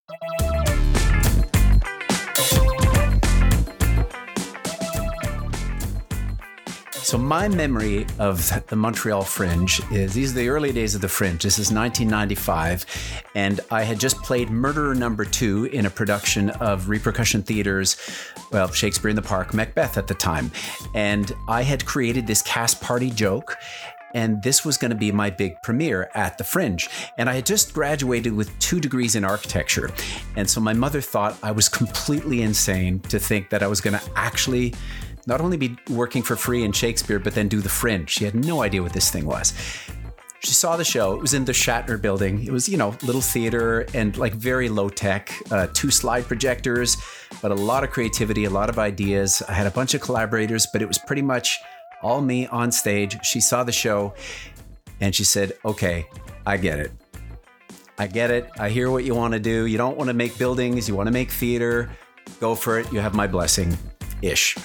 So my memory of the Montreal Fringe is, these are the early days of the Fringe. This is 1995, and I had just played Murderer Number 2 in a production of Repercussion Theatre's, well, Shakespeare in the Park, Macbeth at the time. And I had created this cast party joke, and this was going to be my big premiere at the Fringe. And I had just graduated with 2 degrees in architecture. And so my mother thought I was completely insane to think that I was going to actually not only be working for free in Shakespeare, but then do the Fringe. She had no idea what this thing was. She saw the show. It was in the Shatner building. It was, little theater and like very low tech, 2 slide projectors, but a lot of creativity, a lot of ideas. I had a bunch of collaborators, but it was pretty much all me on stage. She saw the show and she said, okay, I get it. I get it. I hear what you want to do. You don't want to make buildings. You want to make theater. Go for it. You have my blessing-ish.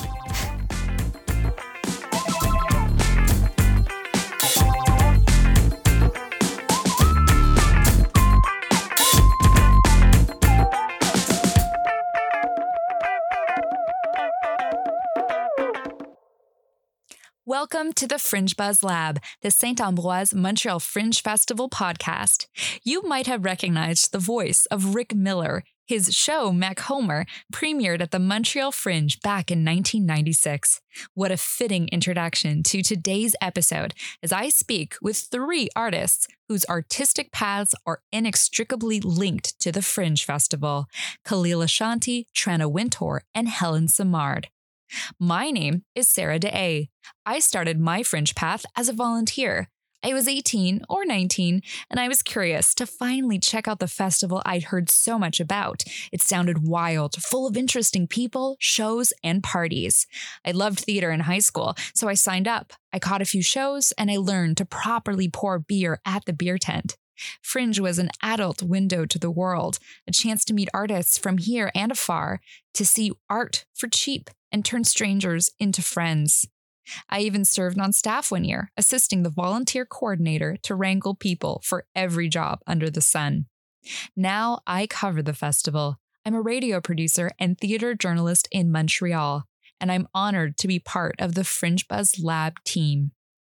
Welcome to the Fringe Buzz Lab, the Saint-Ambroise Montreal Fringe Festival podcast. You might have recognized the voice of Rick Miller. His show, Mac Homer, premiered at the Montreal Fringe back in 1996. What a fitting introduction to today's episode as I speak with 3 artists whose artistic paths are inextricably linked to the Fringe Festival: Khalil Ashanti, Tranna Wintour, and Helen Simard. My name is Sarah De'A. I started my Fringe path as a volunteer. I was 18 or 19, and I was curious to finally check out the festival I'd heard so much about. It sounded wild, full of interesting people, shows, and parties. I loved theater in high school, so I signed up. I caught a few shows, and I learned to properly pour beer at the beer tent. Fringe was an adult window to the world, a chance to meet artists from here and afar, to see art for cheap and turn strangers into friends. I even served on staff one year, assisting the volunteer coordinator to wrangle people for every job under the sun. Now I cover the festival. I'm a radio producer and theater journalist in Montreal, and I'm honored to be part of the Fringe Buzz Lab team.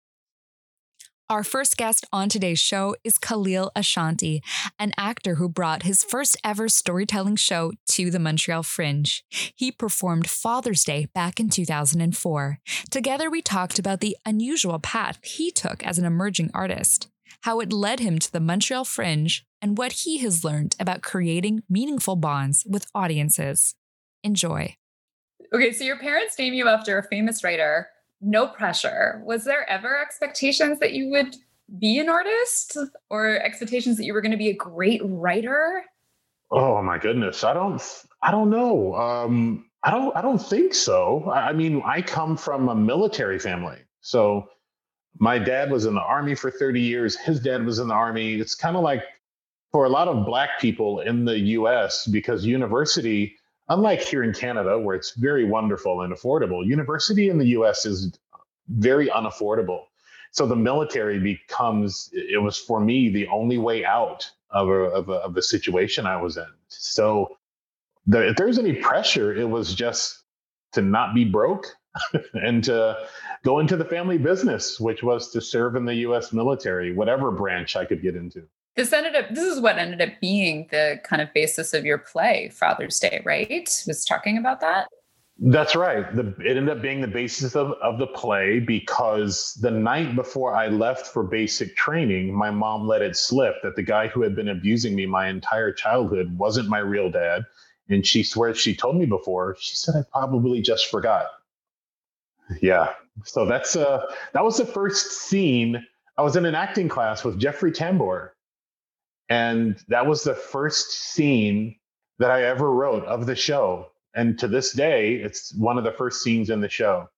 Our first guest on today's show is Khalil Ashanti, an actor who brought his first ever storytelling show to the Montreal Fringe. He performed Father's Day back in 2004. Together, we talked about the unusual path he took as an emerging artist, how it led him to the Montreal Fringe, and what he has learned about creating meaningful bonds with audiences. Enjoy. Okay, so your parents named you after a famous writer. No pressure. Was there ever expectations that you would be an artist, or expectations that you were going to be a great writer? Oh my goodness. I don't know. I don't think so. I mean, I come from a military family. So my dad was in the Army for 30 years. His dad was in the Army. It's kind of like for a lot of Black people in the US, because university, unlike here in Canada, where it's very wonderful and affordable, university in the US is very unaffordable. So the military it was for me, the only way out of the situation I was in. So if there's any pressure, it was just to not be broke and to go into the family business, which was to serve in the US military, whatever branch I could get into. This is what ended up being the kind of basis of your play, Father's Day, right? Was talking about that? That's right. It ended up being the basis of the play, because the night before I left for basic training, my mom let it slip that the guy who had been abusing me my entire childhood wasn't my real dad. And she swears she told me before. She said, I probably just forgot. Yeah. So that was the first scene. I was in an acting class with Jeffrey Tambor. And that was the first scene that I ever wrote of the show. And to this day, it's one of the first scenes in the show.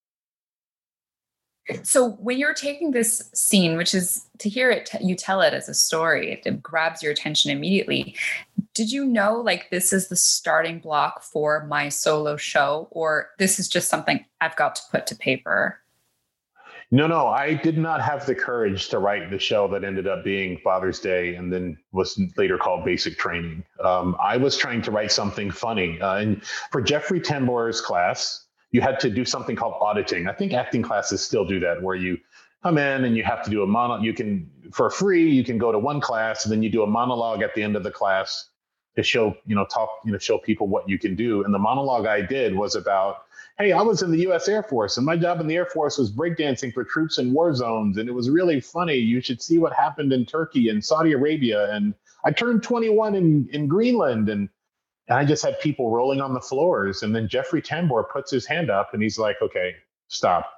So when you're taking this scene, which is to hear it, you tell it as a story, it grabs your attention immediately. Did you know, like, this is the starting block for my solo show, or this is just something I've got to put to paper? No, I did not have the courage to write the show that ended up being Father's Day and then was later called Basic Training. I was trying to write something funny. And for Jeffrey Tambor's class, you had to do something called auditing. I think acting classes still do that, where you come in and you have to do a monologue. You can, for free, you can go to one class and then you do a monologue at the end of the class to show, show people what you can do. And the monologue I did was about, hey, I was in the U.S. Air Force, and my job in the Air Force was breakdancing for troops in war zones, and it was really funny. You should see what happened in Turkey and Saudi Arabia, and I turned 21 in Greenland, and I just had people rolling on the floors. And then Jeffrey Tambor puts his hand up, and he's like, okay, stop.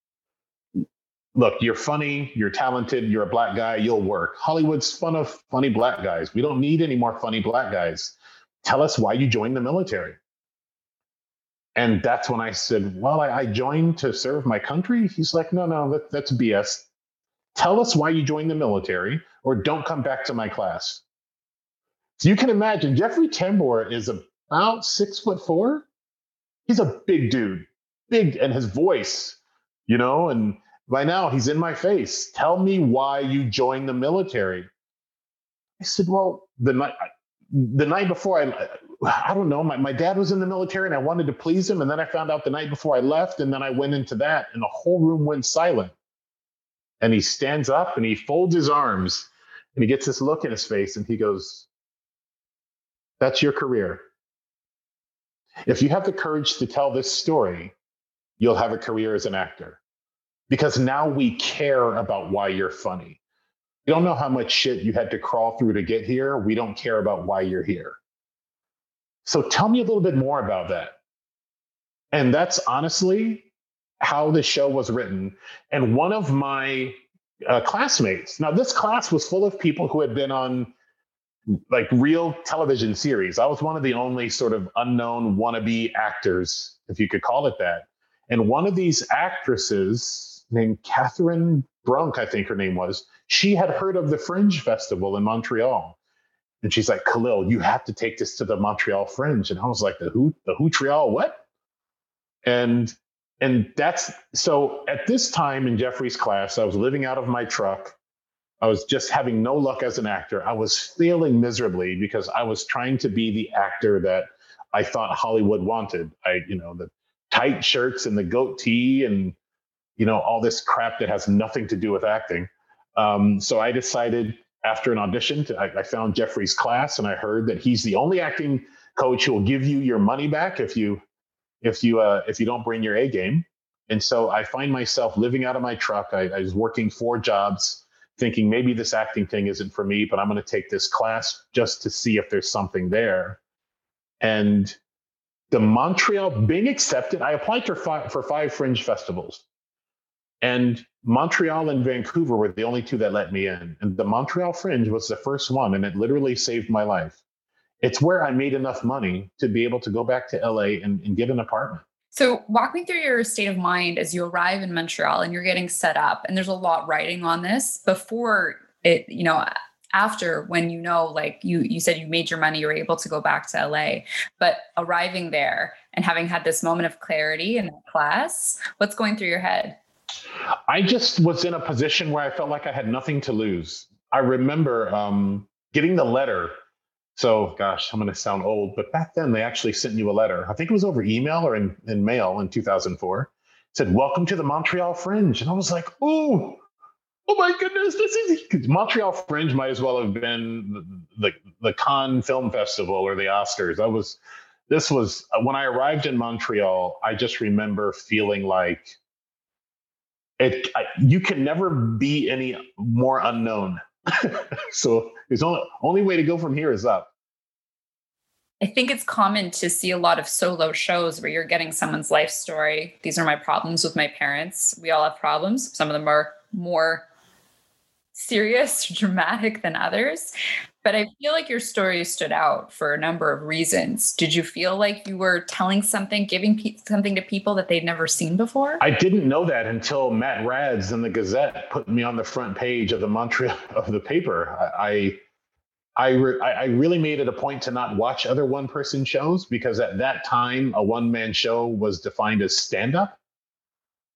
Look, you're funny, you're talented, you're a black guy, you'll work. Hollywood's full of funny black guys. We don't need any more funny black guys. Tell us why you joined the military. And that's when I said, well, I joined to serve my country. He's like, no, that's BS. Tell us why you joined the military or don't come back to my class. So you can imagine Jeffrey Tambor is about 6'4". He's a big dude, big, and his voice, and by now he's in my face. Tell me why you joined the military. I said, well, the night before I don't know, my dad was in the military and I wanted to please him. And then I found out the night before I left, and then I went into that and the whole room went silent. And he stands up and he folds his arms and he gets this look in his face and he goes, that's your career. If you have the courage to tell this story, you'll have a career as an actor, because now we care about why you're funny. We don't know how much shit you had to crawl through to get here. We don't care about why you're here. So tell me a little bit more about that. And that's honestly how the show was written. And one of my classmates, now this class was full of people who had been on like real television series. I was one of the only sort of unknown wannabe actors, if you could call it that. And one of these actresses named Catherine Brunk, I think her name was, she had heard of the Fringe Festival in Montreal. And she's like, Khalil, you have to take this to the Montreal Fringe. And I was like, the Montreal what? And that's, so at this time in Jeffrey's class, I was living out of my truck. I was just having no luck as an actor. I was failing miserably because I was trying to be the actor that I thought Hollywood wanted. The tight shirts and the goatee and, all this crap that has nothing to do with acting. So I decided after an audition, I found Jeffrey's class and I heard that he's the only acting coach who will give you your money back if you don't bring your A game. And so I find myself living out of my truck. I was working 4 jobs, thinking maybe this acting thing isn't for me, but I'm going to take this class just to see if there's something there. And the Montreal being accepted, I applied for 5 Fringe festivals. And Montreal and Vancouver were the only 2 that let me in. And the Montreal Fringe was the first one, and it literally saved my life. It's where I made enough money to be able to go back to LA and get an apartment. So walk me through your state of mind as you arrive in Montreal and you're getting set up. And there's a lot riding on this before it, after when like you said you made your money, you were able to go back to LA, but arriving there and having had this moment of clarity in that class, what's going through your head? I just was in a position where I felt like I had nothing to lose. I remember getting the letter. So, gosh, I'm going to sound old, but back then they actually sent you a letter. I think it was over email or in mail in 2004. It said, welcome to the Montreal Fringe. And I was like, oh my goodness, Montreal Fringe might as well have been the Cannes Film Festival or the Oscars. This was when I arrived in Montreal, I just remember feeling like you can never be any more unknown. So there's only way to go from here is up. I think it's common to see a lot of solo shows where you're getting someone's life story. These are my problems with my parents. We all have problems. Some of them are more serious, dramatic than others. But I feel like your story stood out for a number of reasons. Did you feel like you were telling something, giving something to people that they'd never seen before? I didn't know that until Matt Rads in the Gazette put me on the front page of the Montreal of the paper. I really made it a point to not watch other one-person shows because at that time, a one-man show was defined as stand-up.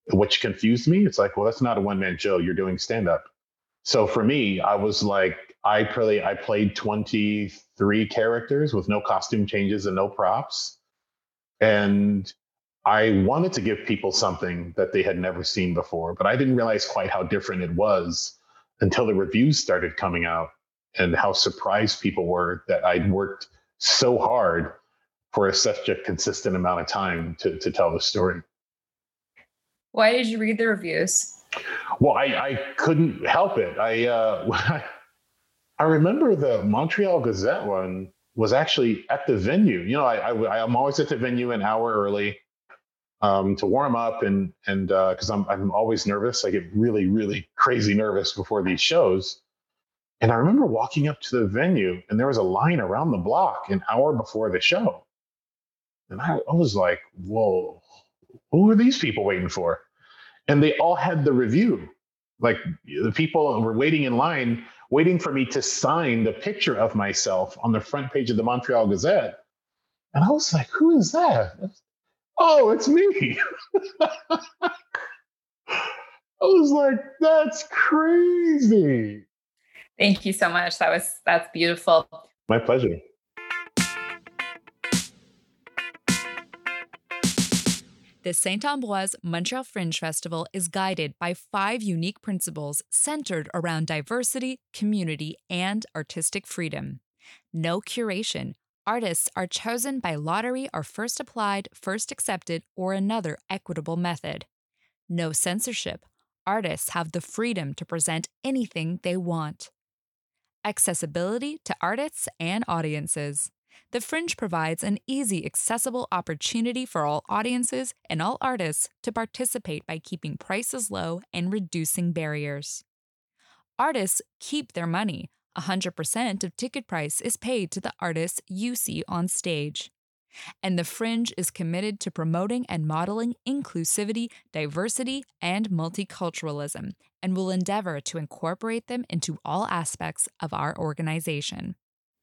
which confused me. It's like, well, that's not a one-man show. You're doing stand-up. So for me, I was like, I played 23 characters with no costume changes and no props. And I wanted to give people something that they had never seen before, but I didn't realize quite how different it was until the reviews started coming out and how surprised people were that I'd worked so hard for such a consistent amount of time to tell the story. Why did you read the reviews? Well, I couldn't help it. I remember the Montreal Gazette one was actually at the venue. You know, I'm always at the venue an hour early to warm up and because I'm always nervous. I get really, really crazy nervous before these shows. And I remember walking up to the venue and there was a line around the block an hour before the show. And I was like, whoa, who are these people waiting for? And they all had the review. Like the people were waiting in line, waiting for me to sign the picture of myself on the front page of the Montreal Gazette. And I was like, who is that? Oh, it's me. I was like, that's crazy. Thank you so much. That's beautiful. My pleasure. The Saint-Ambroise Montreal Fringe Festival is guided by 5 unique principles centered around diversity, community, and artistic freedom. No curation. Artists are chosen by lottery or first applied, first accepted, or another equitable method. No censorship. Artists have the freedom to present anything they want. Accessibility to artists and audiences. The Fringe provides an easy, accessible opportunity for all audiences and all artists to participate by keeping prices low and reducing barriers. Artists keep their money. 100% of ticket price is paid to the artists you see on stage. And the Fringe is committed to promoting and modeling inclusivity, diversity, and multiculturalism, and will endeavor to incorporate them into all aspects of our organization.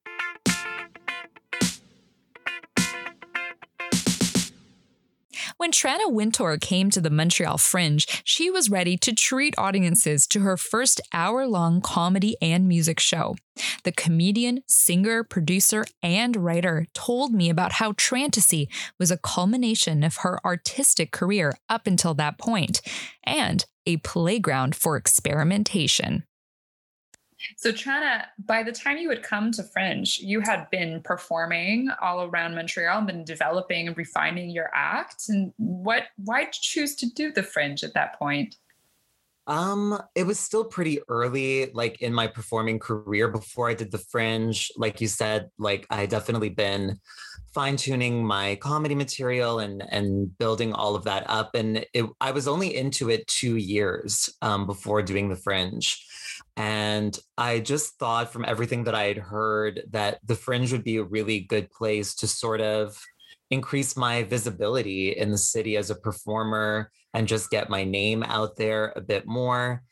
When Tranna Wintour came to the Montreal Fringe, she was ready to treat audiences to her first hour-long comedy and music show. The comedian, singer, producer, and writer told me about how Trantasy was a culmination of her artistic career up until that point, and a playground for experimentation. So Tranna, by the time you had come to Fringe, you had been performing all around Montreal and been developing and refining your act. And why did you choose to do the Fringe at that point? It was still pretty early, like in my performing career before I did the Fringe. Like you said, like I had definitely been fine-tuning my comedy material and building all of that up. And I was only into it 2 years before doing the Fringe. And I just thought from everything that I had heard that the Fringe would be a really good place to sort of increase my visibility in the city as a performer and just get my name out there a bit more.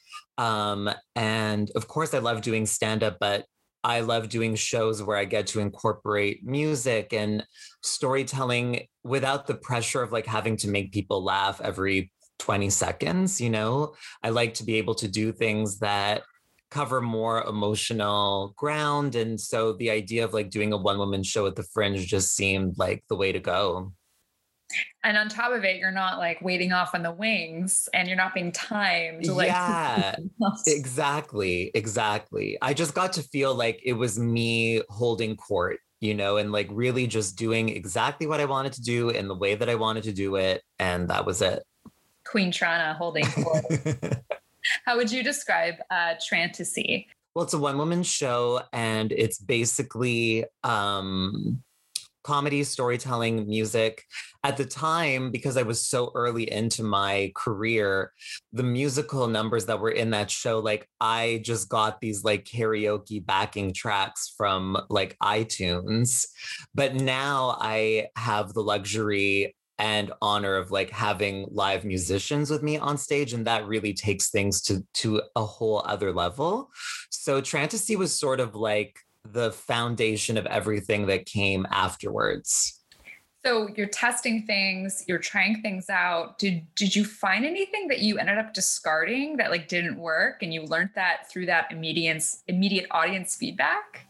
And of course, I love doing stand-up, but I love doing shows where I get to incorporate music and storytelling without the pressure of like having to make people laugh every 20 seconds, you know? I like to be able to do things that cover more emotional ground. And so the idea of like doing a one-woman show at the Fringe just seemed like the way to go. And on top of it, you're not like waiting off on the wings and you're not being timed. Yeah, exactly. I just got to feel like it was me holding court, you know, and like really just doing exactly what I wanted to do in the way that I wanted to do it. And that was it. Queen Tranna holding court. How would you describe Trantasy? Well, it's a one-woman show, and it's basically comedy, storytelling, music. At the time, because I was so early into my career, the musical numbers that were in that show, like I just got these like karaoke backing tracks from like iTunes. But now I have the luxury and honor of like having live musicians with me on stage. And that really takes things to a whole other level. So Trantasy was sort of like the foundation of everything that came afterwards. So you're testing things, you're trying things out. Did you find anything that you ended up discarding that like didn't work, and you learned that through that immediate audience feedback?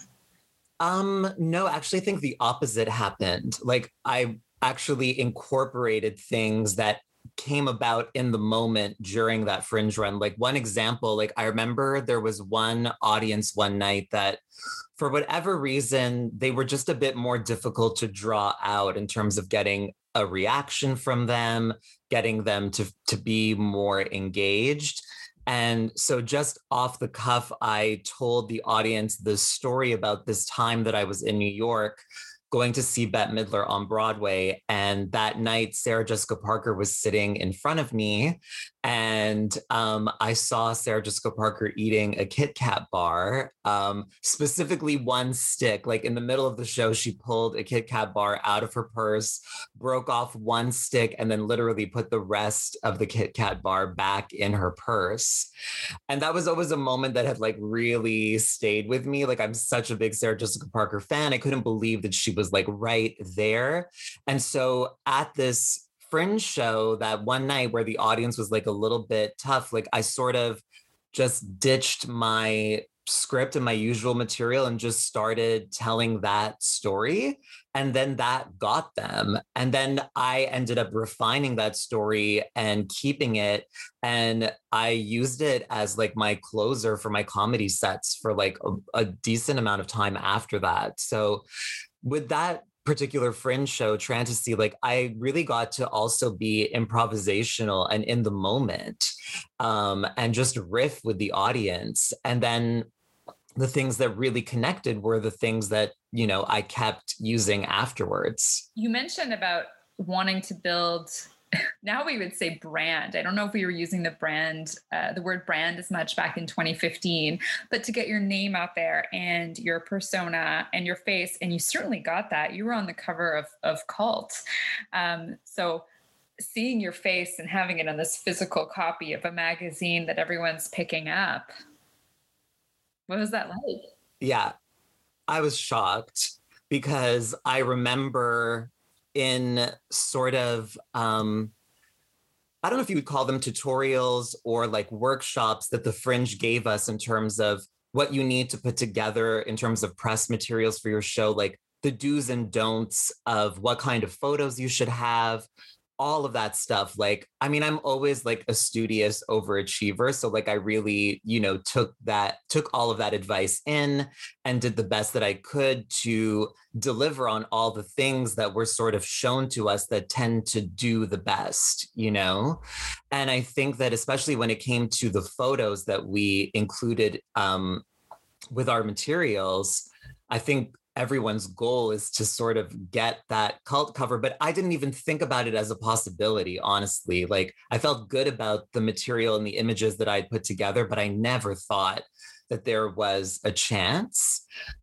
No, actually I think the opposite happened. Like I actually incorporated things that came about in the moment during that Fringe run. Like one example, like I remember there was one audience one night that for whatever reason, they were just a bit more difficult to draw out in terms of getting a reaction from them, getting them to be more engaged. And so just off the cuff, I told the audience the story about this time that I was in New York going to see Bette Midler on Broadway. And that night, Sarah Jessica Parker was sitting in front of me. And I saw Sarah Jessica Parker eating a Kit Kat bar, specifically one stick. Like in the middle of the show, she pulled a Kit Kat bar out of her purse, broke off one stick, and then literally put the rest of the Kit Kat bar back in her purse. And that was always a moment that had like really stayed with me. Like I'm such a big Sarah Jessica Parker fan. I couldn't believe that she was like right there. And so at this Fringe show that one night where the audience was like a little bit tough, like I sort of just ditched my script and my usual material and just started telling that story. And then that got them. And then I ended up refining that story and keeping it. And I used it as like my closer for my comedy sets for like a decent amount of time after that. So with that particular Fringe show, Fantasy, like I really got to also be improvisational and in the moment, and just riff with the audience. And then the things that really connected were the things that, you know, I kept using afterwards. You mentioned about wanting to build, now we would say brand. I don't know if we were using the word brand as much back in 2015, but to get your name out there and your persona and your face, and you certainly got that. You were on the cover of Cult. So seeing your face and having it on this physical copy of a magazine that everyone's picking up, what was that like? Yeah, I was shocked because I remember in sort of, I don't know if you would call them tutorials or like workshops that the Fringe gave us in terms of what you need to put together in terms of press materials for your show, like the do's and don'ts of what kind of photos you should have, all of that stuff. Like, I mean, I'm always like a studious overachiever. So like, I really, you know, took all of that advice in and did the best that I could to deliver on all the things that were sort of shown to us that tend to do the best, you know? And I think that especially when it came to the photos that we included with our materials, I think everyone's goal is to sort of get that Cult cover, but I didn't even think about it as a possibility, honestly. Like I felt good about the material and the images that I'd put together, but I never thought that there was a chance.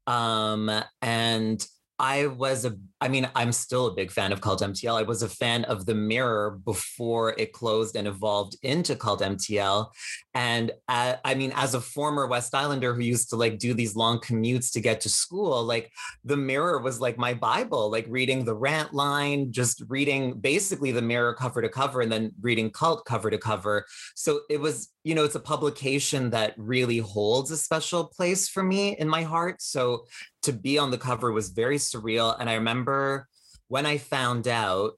And I'm still a big fan of Cult MTL. I was a fan of The Mirror before it closed and evolved into Cult MTL. And as a former West Islander who used to like do these long commutes to get to school, like The Mirror was like my Bible, like reading the rant line, just reading basically The Mirror cover to cover and then reading Cult cover to cover. So it was, you know, it's a publication that really holds a special place for me in my heart. So to be on the cover was very surreal. And I remember when I found out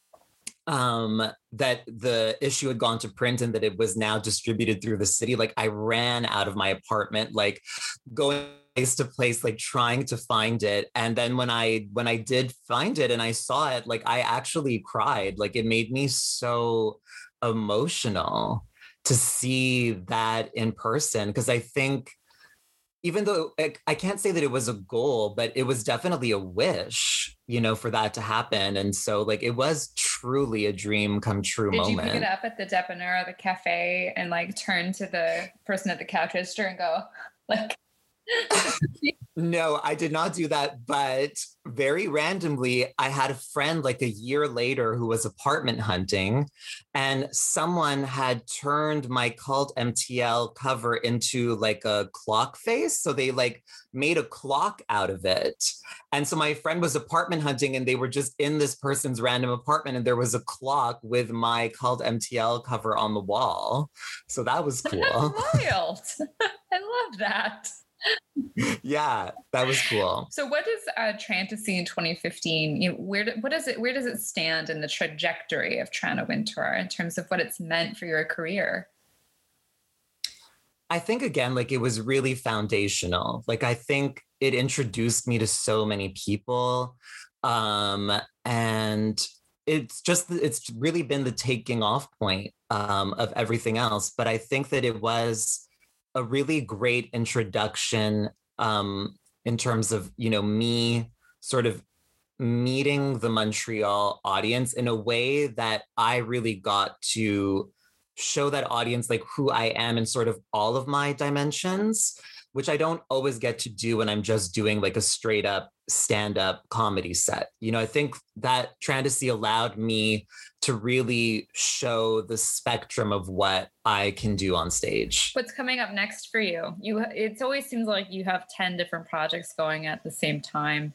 that the issue had gone to print and that it was now distributed through the city, like I ran out of my apartment, like going place to place, like trying to find it. And then when I did find it and I saw it, like I actually cried. Like it made me so emotional to see that in person. Because I think even though I can't say that it was a goal, but it was definitely a wish, you know, for that to happen. And so like, it was truly a dream come true moment. Did you pick it up at the Dépanneur, the cafe, and like turn to the person at the cash register and go like, No, I did not do that. But very randomly, I had a friend like a year later who was apartment hunting, and someone had turned my Cult MTL cover into like a clock face. So they like made a clock out of it. And so my friend was apartment hunting, and they were just in this person's random apartment, and there was a clock with my Cult MTL cover on the wall. So that was cool. Wild. I love that. Yeah, that was cool. So what does Trantasy in 2015, where does it stand in the trajectory of Toronto Wind Tour in terms of what it's meant for your career? I think again, like it was really foundational. Like I think it introduced me to so many people. And it's really been the taking off point of everything else. But I think that it was a really great introduction in terms of, me sort of meeting the Montreal audience in a way that I really got to show that audience like who I am in sort of all of my dimensions, which I don't always get to do when I'm just doing like a straight up stand-up comedy set. I think that Trantasy allowed me to really show the spectrum of what I can do on stage. What's coming up next for you? It always seems like you have 10 different projects going at the same time.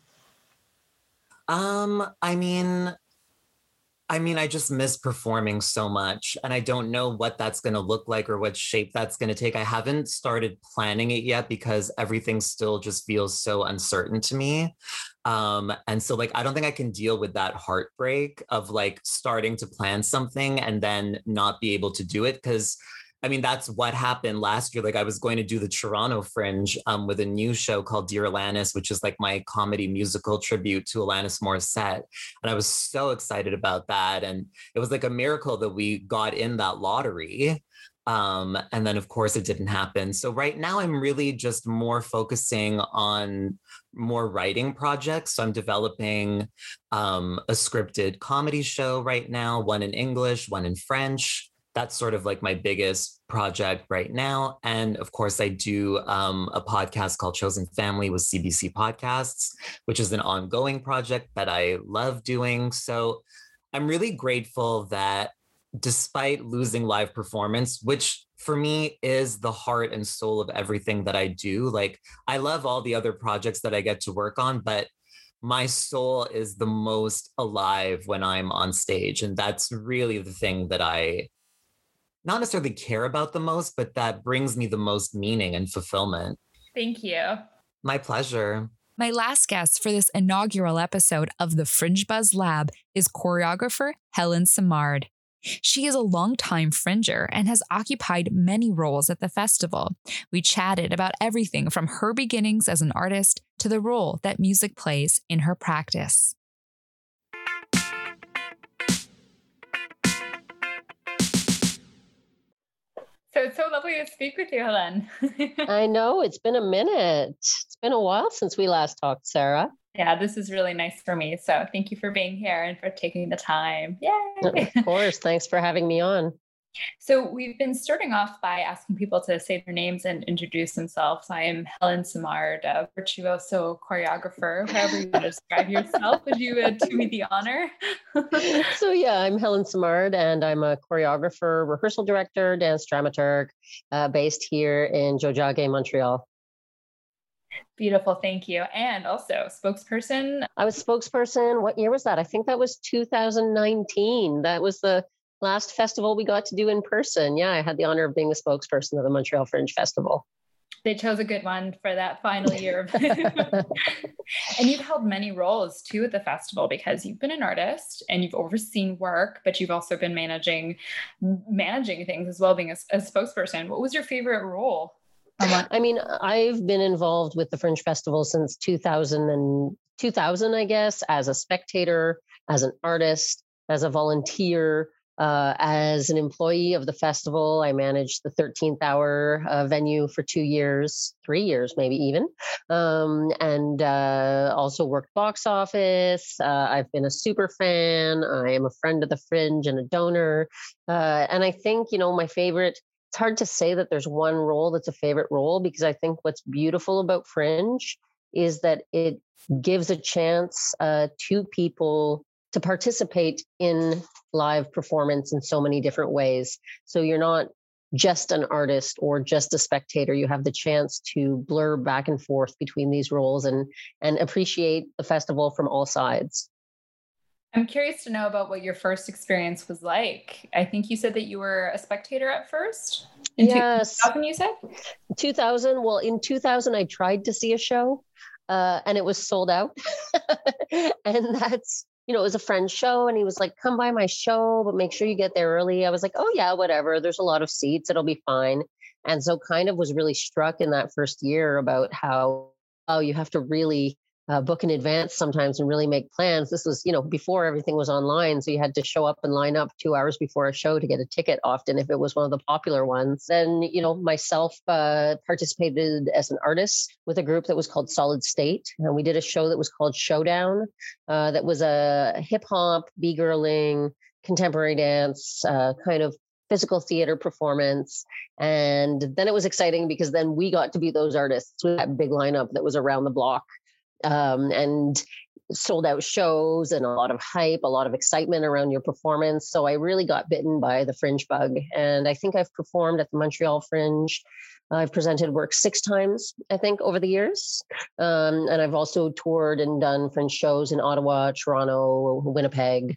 I just miss performing so much, and I don't know what that's going to look like or what shape that's going to take. I haven't started planning it yet because everything still just feels so uncertain to me. And so like, I don't think I can deal with that heartbreak of like starting to plan something and then not be able to do it. Cause that's what happened last year. Like I was going to do the Toronto Fringe with a new show called Dear Alanis, which is like my comedy musical tribute to Alanis Morissette. And I was so excited about that. And it was like a miracle that we got in that lottery. And then of course it didn't happen. So right now I'm really just more focusing on more writing projects. So I'm developing a scripted comedy show right now, one in English, one in French. That's sort of like my biggest project right now. And of course, I do a podcast called Chosen Family with CBC Podcasts, which is an ongoing project that I love doing. So I'm really grateful that despite losing live performance, which for me is the heart and soul of everything that I do, like I love all the other projects that I get to work on, but my soul is the most alive when I'm on stage. And that's really the thing that I not necessarily care about the most, but that brings me the most meaning and fulfillment. Thank you. My pleasure. My last guest for this inaugural episode of the Fringe Buzz Lab is choreographer Helen Simard. She is a longtime Fringer and has occupied many roles at the festival. We chatted about everything from her beginnings as an artist to the role that music plays in her practice. So it's so lovely to speak with you, Helen. I know, it's been a minute. It's been a while since we last talked, Sarah. Yeah, this is really nice for me. So thank you for being here and for taking the time. Yay! Of course. Thanks for having me on. So we've been starting off by asking people to say their names and introduce themselves. I am Helen Simard, a virtuoso choreographer. However you want to describe yourself, would you do me the honor? So yeah, I'm Helen Simard, and I'm a choreographer, rehearsal director, dance dramaturg, based here in Tiohtià:ke, Montreal. Beautiful, thank you. And also spokesperson. I was spokesperson. What year was that? I think that was 2019. That was the last festival we got to do in person. Yeah, I had the honor of being the spokesperson of the Montreal Fringe Festival. They chose a good one for that final year. And you've held many roles too at the festival because you've been an artist and you've overseen work, but you've also been managing things as well, being a spokesperson. What was your favorite role? I've been involved with the Fringe Festival since 2000, I guess, as a spectator, as an artist, as a volunteer, as an employee of the festival. I managed the 13th Hour venue for 3 years, maybe even, and also worked box office. I've been a super fan. I am a friend of the Fringe and a donor. And I think, my favorite it's hard to say that there's one role that's a favorite role, because I think what's beautiful about Fringe is that it gives a chance to people to participate in live performance in so many different ways. So you're not just an artist or just a spectator. You have the chance to blur back and forth between these roles and appreciate the festival from all sides. I'm curious to know about what your first experience was like. I think you said that you were a spectator at first. Yes. 2000, you said? 2000. Well, in 2000, I tried to see a show and it was sold out. And that's, it was a friend's show and he was like, come by my show, but make sure you get there early. I was like, oh yeah, whatever. There's a lot of seats. It'll be fine. And so kind of was really struck in that first year about how, you have to really book in advance sometimes and really make plans. This was, before everything was online. So you had to show up and line up 2 hours before a show to get a ticket often if it was one of the popular ones. And, myself participated as an artist with a group that was called Solid State. And we did a show that was called Showdown. That was a hip hop, b-girling, contemporary dance, kind of physical theater performance. And then it was exciting because then we got to be those artists with that big lineup that was around the block. And sold out shows and a lot of hype, a lot of excitement around your performance. So I really got bitten by the Fringe bug. And I think I've performed at the Montreal Fringe. I've presented work 6 times, I think, over the years. And I've also toured and done Fringe shows in Ottawa, Toronto, Winnipeg.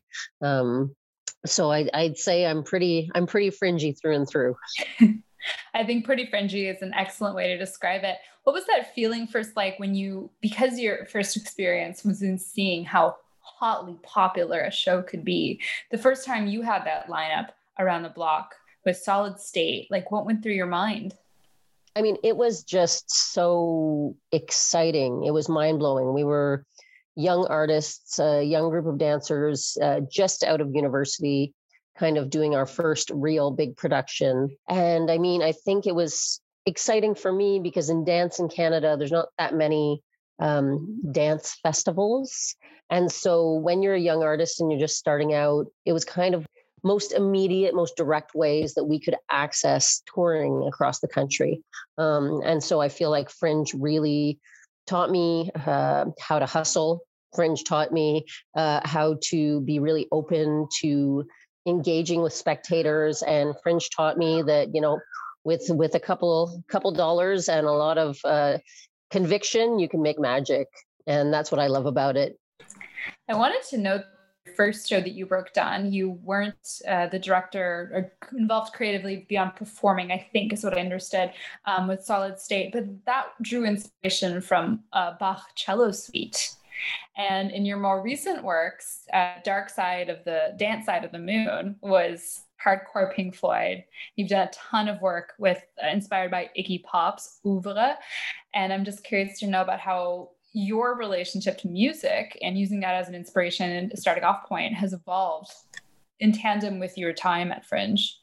So I'd say I'm pretty fringy through and through. I think pretty fringy is an excellent way to describe it. What was that feeling first like because your first experience was in seeing how hotly popular a show could be? The first time you had that lineup around the block with Solid State, like what went through your mind? I mean, it was just so exciting. It was mind-blowing. We were young artists, a young group of dancers just out of university, kind of doing our first real big production. And I mean, I think it was exciting for me because in dance in Canada, there's not that many dance festivals. And so when you're a young artist and you're just starting out, it was kind of most immediate, most direct ways that we could access touring across the country. And so I feel like Fringe really taught me how to hustle. Fringe taught me how to be really open to engaging with spectators, and Fringe taught me that, with a couple dollars and a lot of conviction, you can make magic. And that's what I love about it. I wanted to know the first show that you worked on, you weren't the director or involved creatively beyond performing, I think is what I understood, with Solid State, but that drew inspiration from Bach Cello Suite. And in your more recent works, Dark Side of the Dance Side of the Moon was hardcore Pink Floyd. You've done a ton of work with inspired by Iggy Pop's Oeuvre. And I'm just curious to know about how your relationship to music and using that as an inspiration and starting off point has evolved in tandem with your time at Fringe.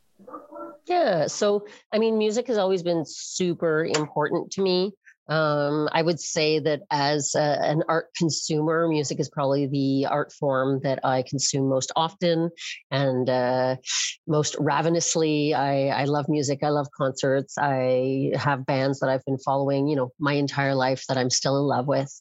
Yeah. So, I mean, music has always been super important to me. I would say that as an art consumer, music is probably the art form that I consume most often and most ravenously. I love music. I love concerts. I have bands that I've been following, my entire life that I'm still in love with.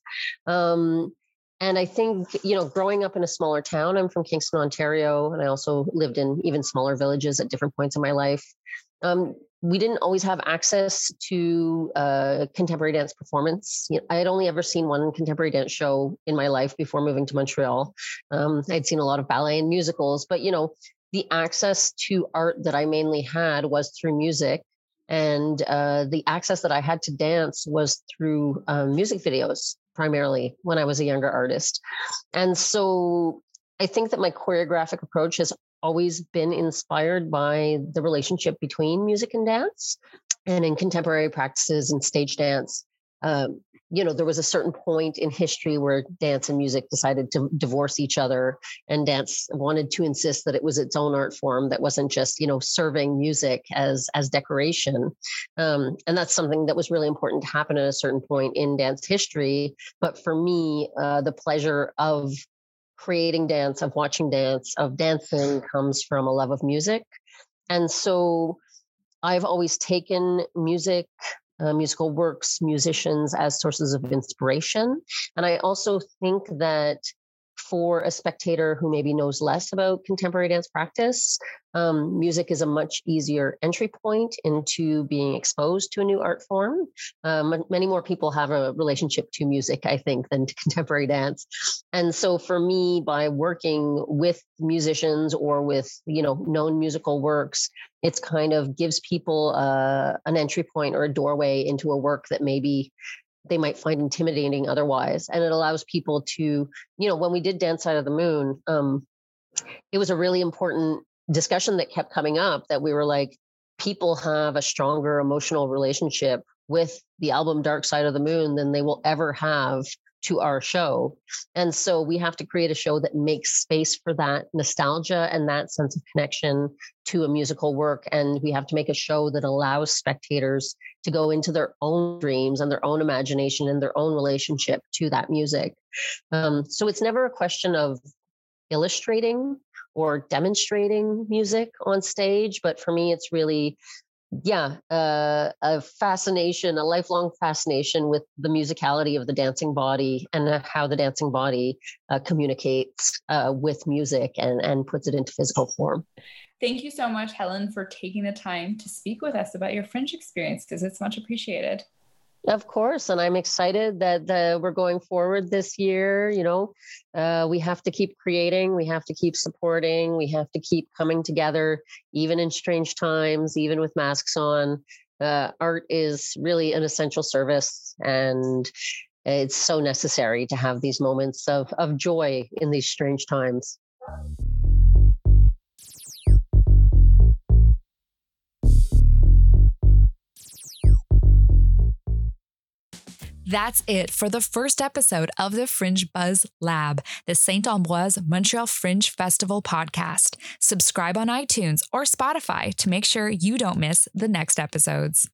And I think, growing up in a smaller town, I'm from Kingston, Ontario, and I also lived in even smaller villages at different points in my life. We didn't always have access to contemporary dance performance. I had only ever seen one contemporary dance show in my life before moving to Montreal. I'd seen a lot of ballet and musicals, but the access to art that I mainly had was through music. And the access that I had to dance was through music videos, primarily when I was a younger artist. And so I think that my choreographic approach has always been inspired by the relationship between music and dance. And in contemporary practices and stage dance, there was a certain point in history where dance and music decided to divorce each other, and dance wanted to insist that it was its own art form that wasn't just, serving music as decoration. And that's something that was really important to happen at a certain point in dance history. But for me, the pleasure of creating dance, of watching dance, of dancing comes from a love of music. And so I've always taken music, musical works, musicians as sources of inspiration. And I also think that for a spectator who maybe knows less about contemporary dance practice, music is a much easier entry point into being exposed to a new art form. Many more people have a relationship to music, I think, than to contemporary dance. And so for me, by working with musicians or with, known musical works, it's kind of gives people an entry point or a doorway into a work that maybe they might find intimidating otherwise. And it allows people to, when we did Dance Side of the Moon, it was a really important discussion that kept coming up, that we were like, people have a stronger emotional relationship with the album Dark Side of the Moon than they will ever have to our show. And so we have to create a show that makes space for that nostalgia and that sense of connection to a musical work. And we have to make a show that allows spectators to go into their own dreams and their own imagination and their own relationship to that music. So it's never a question of illustrating or demonstrating music on stage, but for me, it's really a fascination, a lifelong fascination with the musicality of the dancing body and how the dancing body communicates with music and puts it into physical form. Thank you so much, Helen, for taking the time to speak with us about your Fringe experiences. It's much appreciated. Of course. And I'm excited that we're going forward this year. We have to keep creating, we have to keep supporting, we have to keep coming together, even in strange times, even with masks on. Art is really an essential service, and it's so necessary to have these moments of joy in these strange times. That's it for the first episode of the Fringe Buzz Lab, the Saint-Ambroise Montreal Fringe Festival podcast. Subscribe on iTunes or Spotify to make sure you don't miss the next episodes.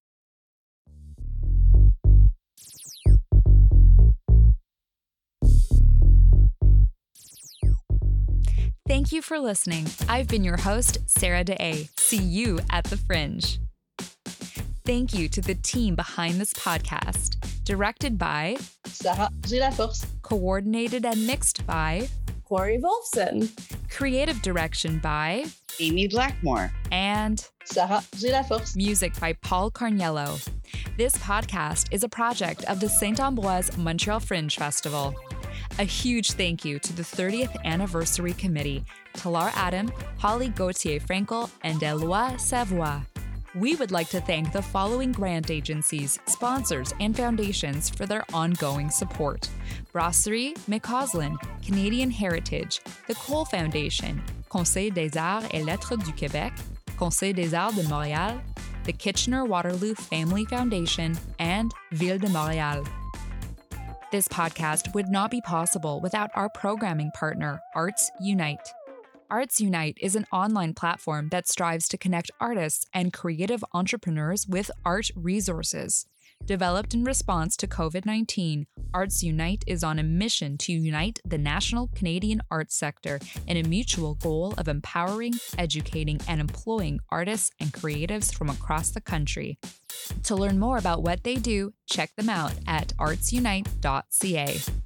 Thank you for listening. I've been your host, Sarah Deshaies. See you at the Fringe. Thank you to the team behind this podcast. Directed by Sarah Gilaforce. Coordinated and mixed by Corey Wolfson. Creative direction by Amy Blackmore. And Sarah Gilaforce. Music by Paul Carniello. This podcast is a project of the Saint-Ambroise Montreal Fringe Festival. A huge thank you to the 30th Anniversary Committee, Talar Adam, Holly Gauthier-Frankel, and Eloi Savoie. We would like to thank the following grant agencies, sponsors, and foundations for their ongoing support: Brasserie McCausland, Canadian Heritage, the Cole Foundation, Conseil des Arts et Lettres du Québec, Conseil des Arts de Montréal, the Kitchener-Waterloo Family Foundation, and Ville de Montréal. This podcast would not be possible without our programming partner, Arts Unite. Arts Unite is an online platform that strives to connect artists and creative entrepreneurs with art resources. Developed in response to COVID-19, Arts Unite is on a mission to unite the national Canadian arts sector in a mutual goal of empowering, educating, and employing artists and creatives from across the country. To learn more about what they do, check them out at artsunite.ca.